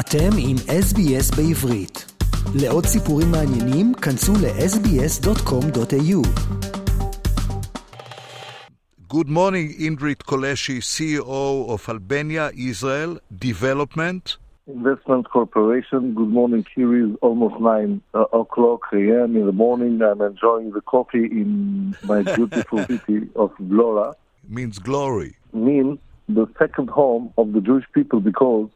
אתם עם SBS בעברית. לעוד סיפורים מעניינים, כנסו ל-sbs.com.au. Good morning, Indrit Koleshi, CEO of Albania Israel Development Investment Corporation. Good morning. Here is almost 9 o'clock a.m. in the morning. I'm enjoying the coffee in my beautiful city of Vlora. means glory. Means the second home of the Jewish people, because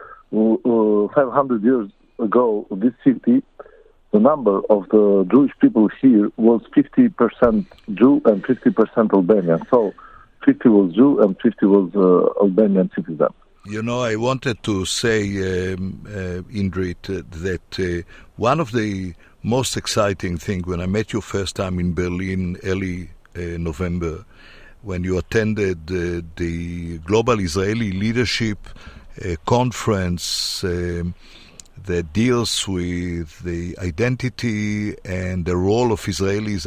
500 years ago, this city, the number of the Jewish people here was 50% Jew and 50% Albanian. So 50 was Jew and 50 was Albanian citizen. You know, I wanted to say, Indrit, that one of the most exciting things when I met you first time in Berlin early November, when you attended the Global Israeli Leadership Conference that deals with the identity and the role of Israelis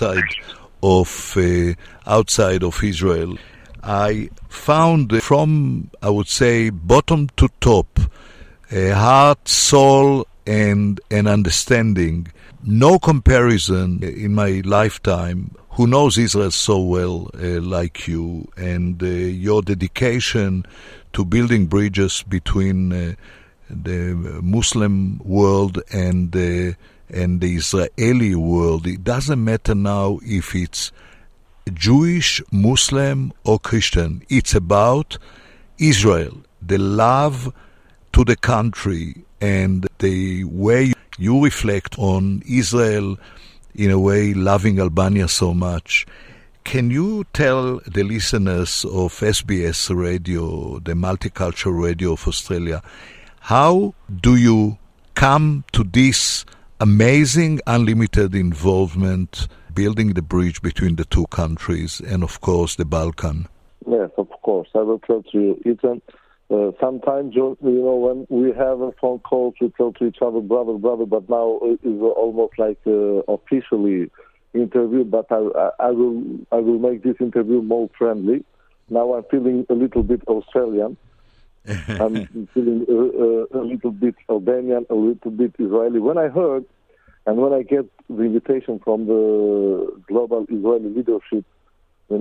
outside of Israel. I found from, I would say, bottom to top, heart, soul, and an understanding. No comparison in my lifetime. Who knows Israel so well like you, and your dedication to building bridges between the Muslim world and the Israeli world. It doesn't matter now if it's Jewish, Muslim, or Christian. It's about Israel, the love to the country, and the way you reflect on Israel, in a way loving Albania so much. Can you tell the listeners of SBS Radio, the multicultural radio of Australia, how do you come to this amazing unlimited involvement building the bridge between the two countries and, of course, the Balkan? Yes, of course. I will tell to you, Ethan. Sometimes, when we have a phone call to tell to each other, brother, but now it's almost like officially interview, but I will make this interview more friendly. Now I'm feeling a little bit Australian. I'm feeling a little bit Albanian, a little bit Israeli. When I heard and when I get the invitation from the Global Israeli Leadership, it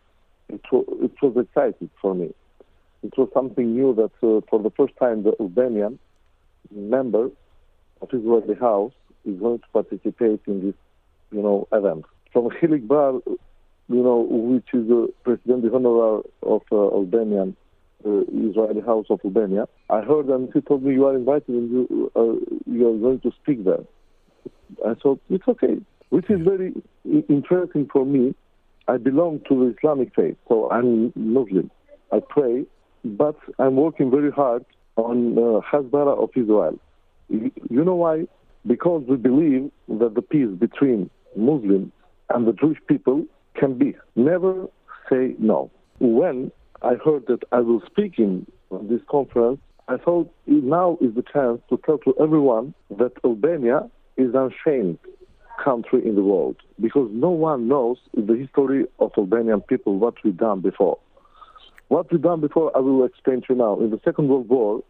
was exciting for me. It was something new that for the first time the Albanian member of Israeli House is going to participate in this, event. From Hilik Bar, which is the President Honorary of Albanian Israeli House of Albania, I heard and he told me, you are invited and you are going to speak there. I thought, it's okay. Which is very interesting for me. I belong to the Islamic faith, so I'm Muslim. I pray, but I'm working very hard on Hasbara of Israel. You know why? Because we believe that the peace between Muslims and the Jewish people can be. Never say no. When I heard that I will speak in this conference, I thought now is the chance to tell to everyone that Albania is an unashamed country in the world, because no one knows the history of Albanian people, what we've done before. What we've done before, I will explain to you now. In the Second World War,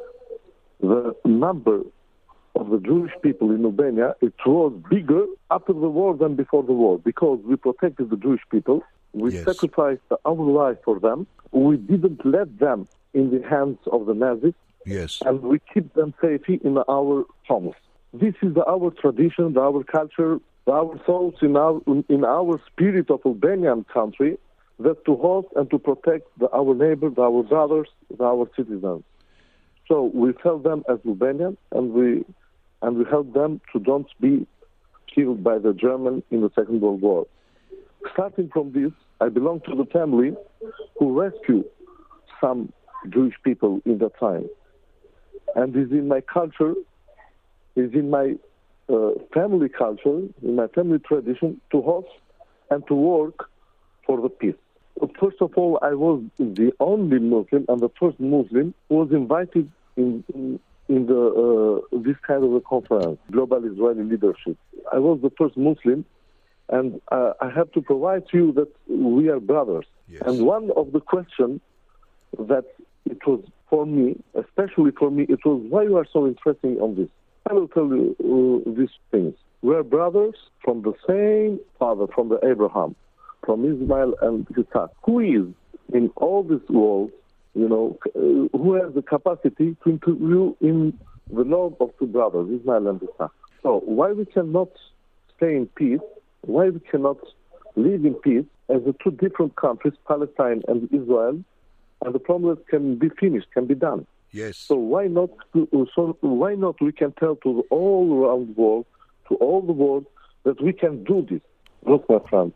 the number of the Jewish people in Albania, it was bigger after the war than before the war, because we protected the Jewish people. We sacrificed our life for them. We didn't let them in the hands of the Nazis. Yes. And we keep them safe in our homes. This is our tradition, our culture, our souls in our spirit of Albanian country, that to host and to protect our neighbors, our brothers, our citizens. So we tell them as Albanians, and we help them to don't be killed by the Germans in the Second World War. Starting from this, I belong to the family who rescued some Jewish people in that time. And it's in my culture, it's in my family culture, in my family tradition, to host and to work for the peace. First of all, I was the only Muslim and the first Muslim who was invited in this kind of a conference, Global Israeli Leadership. I was the first Muslim, and I have to provide to you that we are brothers. Yes. And one of the questions that it was for me, especially for me, it was why you are so interested on this. I will tell you these things. We are brothers from the same father, from the Abraham, from Ismail and Isaac. Who is in all this world, who has the capacity to interview in the love of two brothers, Ismail and Isaac? So why we cannot stay in peace? Why we cannot live in peace as the two different countries, Palestine and Israel, and the problem can be finished, can be done? Yes. So why not? Why not? We can tell to all around the world, to all the world, that we can do this. Look, my friends,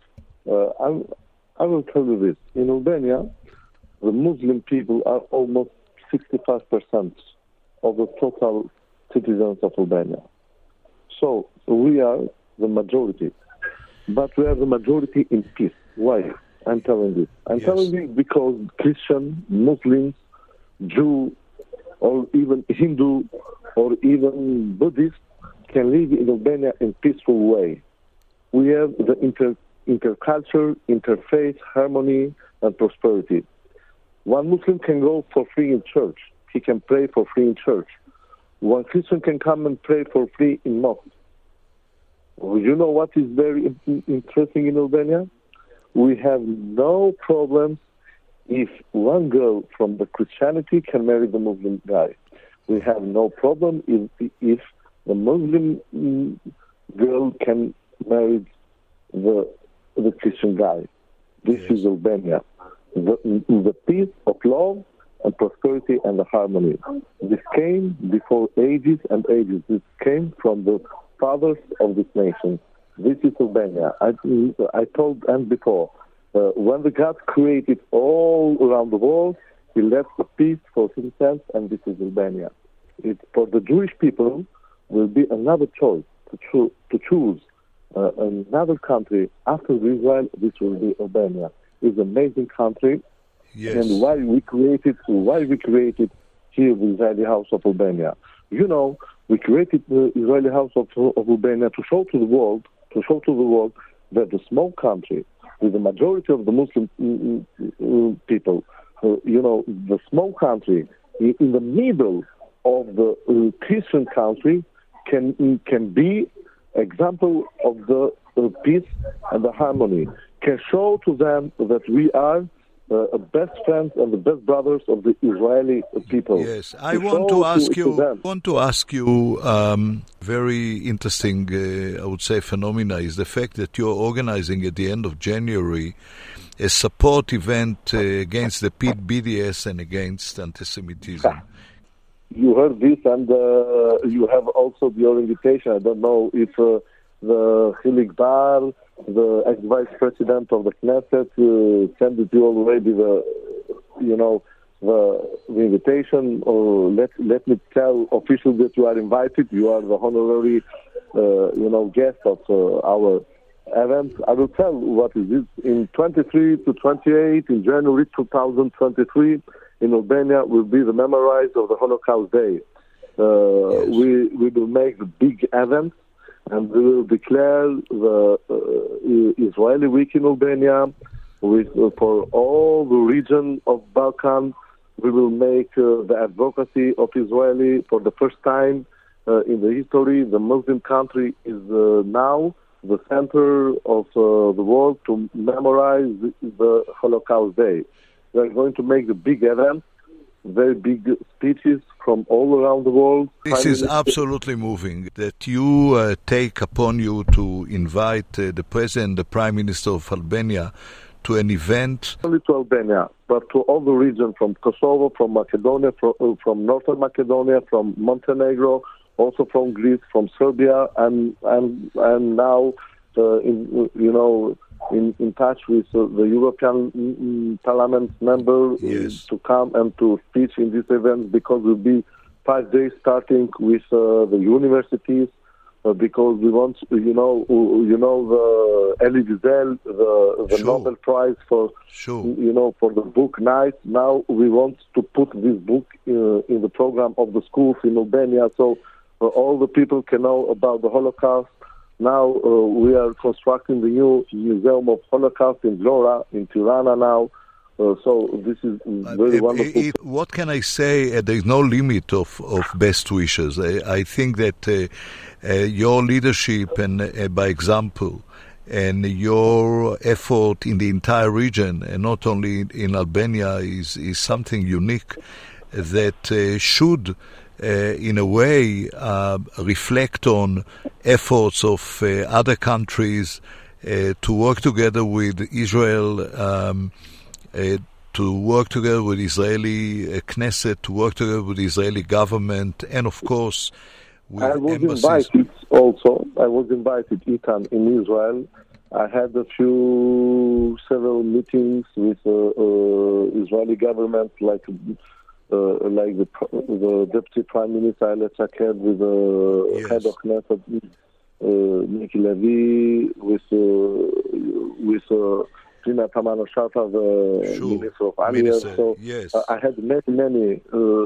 I will tell you this. In Albania, the Muslim people are almost 65% of the total citizens of Albania. So we are the majority, but we are the majority in peace. Why? I'm telling this. I'm telling this because Christian, Muslims, Jew, or even Hindu, or even Buddhist can live in Albania in peaceful way. We have the interculture, interfaith, harmony, and prosperity. One Muslim can go for free in church. He can pray for free in church. One Christian can come and pray for free in mosque. You know what is very interesting in Albania? We have no problems if one girl from the Christianity can marry the Muslim guy. We have no problem if the Muslim girl can marry the Christian guy. This is Albania. The peace of love and prosperity and the harmony. This came before ages and ages. This came from the fathers of this nation. This is Albania. I told and before, when the God created all around the world, He left the peace for Himself, and this is Albania. For the Jewish people, will be another choice to choose another country after Israel. This will be Albania. It's an amazing country, and why we created here the Israeli House of Albania. We created the Israeli House of Albania to show to the world that the small country with the majority of the Muslim people, the small country in the middle of the Christian country can be example of the peace and the harmony, can show to them that we are best friends and the best brothers of the Israeli people. Yes, I want to ask you, very interesting, I would say, phenomena is the fact that you're organizing at the end of January a support event against the BDS and against anti-Semitism. You heard this, and you have also your invitation. I don't know if the Hilik Bar, the ex-vice president of the Knesset, sent you already the invitation. Or let me tell officially that you are invited. You are the honorary, guest of our event. I will tell what is this. In 23 to 28 in January 2023 in Albania will be the memorize of the Holocaust Day. We will make the big event, and we will declare the Israeli Week in Albania for all the region of Balkan. We will make the advocacy of Israeli for the first time in the history. The Muslim country is now the center of the world to memorize the Holocaust Day. We are going to make the big event, very big speeches from all around the world. This is absolutely moving that you take upon you to invite the President, the Prime Minister of Albania to an event. Not only to Albania, but to all the region, from Kosovo, from Macedonia, from Northern Macedonia, from Montenegro, also from Greece, from Serbia, and now in touch with the European Parliament member to come and to speak in this event, because it will be 5 days starting with the universities, because we want, the Elie Wiesel, the Nobel Prize for, for the book night. Now we want to put this book in the program of the schools in Albania, so all the people can know about the Holocaust. Now we are constructing the new Museum of Holocaust in Vlora, in Tirana now. So this is very wonderful. What can I say? There is no limit of best wishes. I think that your leadership and by example and your effort in the entire region, and not only in Albania, is something unique that should, in a way, reflect on efforts of other countries to work together with Israel, to work together with Israeli Knesset, to work together with the Israeli government, and of course with embassies. I was invited, Ethan, in Israel. I had several meetings with Israeli government, like the Deputy Prime Minister Ayelet Shaked, with the head of Knesset, Miki Levy, with Pnina Tamano-Shata, the Minister of Aliyah. So yes. I had many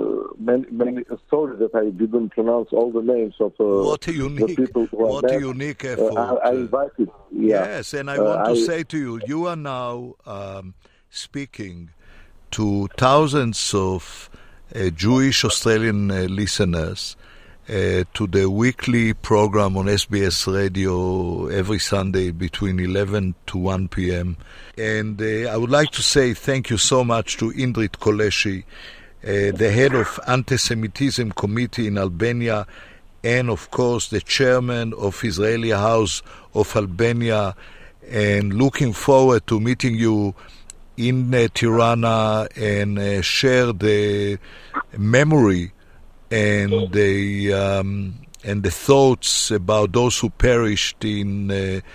stories that I didn't pronounce all the names of what a unique, the people who what a unique effort. I invited. Yes, and I want to say to you, you are now speaking to thousands of Jewish Australian listeners to the weekly program on SBS Radio every Sunday between 11 to 1 p.m. And I would like to say thank you so much to Indrit Koleshi, the head of Anti-Semitism Committee in Albania, and of course the chairman of Israeli House of Albania, and looking forward to meeting you in Tirana and share the memory and the thoughts about those who perished in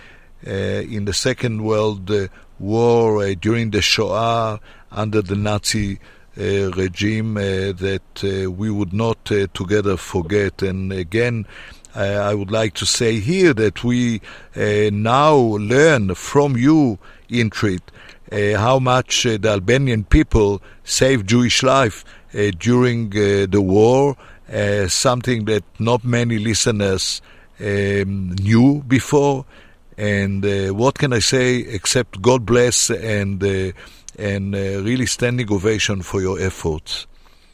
the Second World War during the Shoah under the Nazi regime that we would not together forget. And again, I would like to say here that we now learn from you, Indrit, how much the Albanian people saved Jewish life during the war, something that not many listeners knew before. And what can I say except God bless and really standing ovation for your efforts.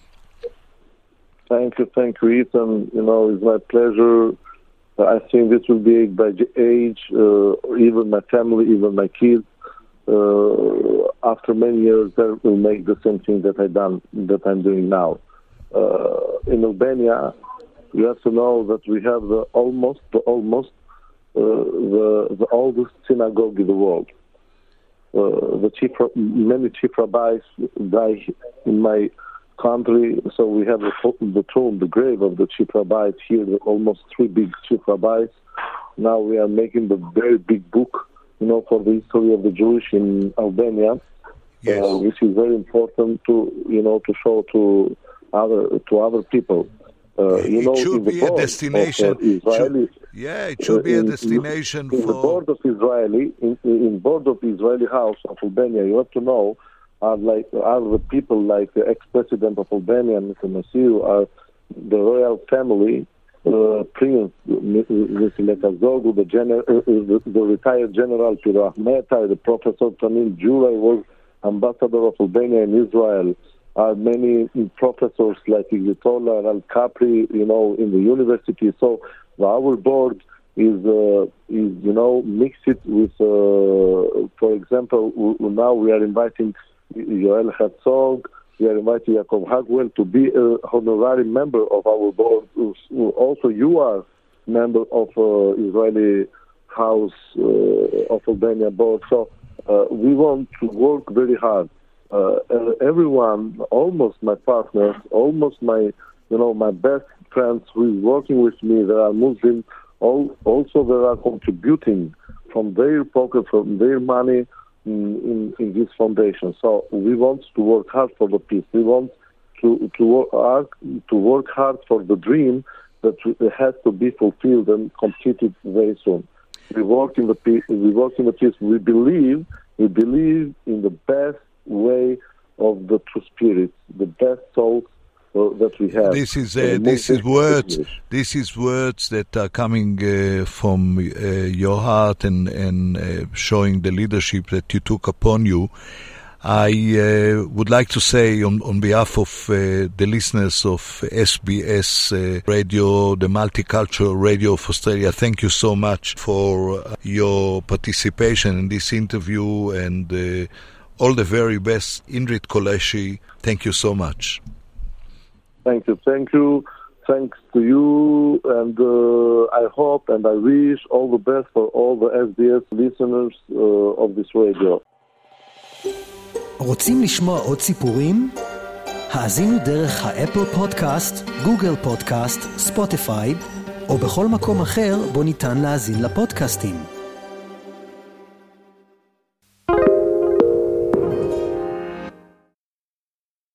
Thank you, Ethan. It's my pleasure. I think this will be by age, even my family, even my kids. After many years, they will make the same thing that I'm doing now. In Albania, you have to know that we have the oldest synagogue in the world. Many chief rabbis die in my country, so we have the tomb, the grave of the chief rabbis here. Almost 3 big chief rabbis. Now we are making the very big book, for the history of the Jewish in Albania, which is very important to show to other people. It should be a destination. It should be a destination for. In the board of Israeli House of Albania, you have to know are the people like the ex-president of Albania, Mr. Masiu, are the royal family. Prince Lekazoglu, the retired General Piro Ahmeta, the Professor Tamil Juraj was ambassador of Albania in Israel. Many professors like Iglitola, Al Capri, in the university. So our board is mixed it with, for example, now we are inviting Yoel Herzog. We are inviting Yaakov Hagwell to be an honorary member of our board. Also, you are member of Israeli House of Albania board. So we want to work very hard. Everyone, almost my partners, almost my best friends who is working with me, they are Muslim. Also, they are contributing from their pocket, from their money, in this foundation. So we want to work hard for the peace. We want to work hard for the dream that has to be fulfilled and completed very soon. We work in the peace. We believe in the best way of the true spirit, the best souls that we have. This is words that are coming from your heart and showing the leadership that you took upon you. I would like to say on behalf of the listeners of SBS Radio, the Multicultural Radio of Australia, thank you so much for your participation in this interview, and all the very best. Indrit Koleshi, thank you so much. Thank you. Thanks to you, and I hope and I wish all the best for all the SBS listeners of this radio. רוצים לשמוע עוד סיפורים? האזינו דרך האפל פודקאסט, גוגל פודקאסט, ספוטיפיי, או בכל מקום אחר בו ניתן להאזין לפודקאסטים.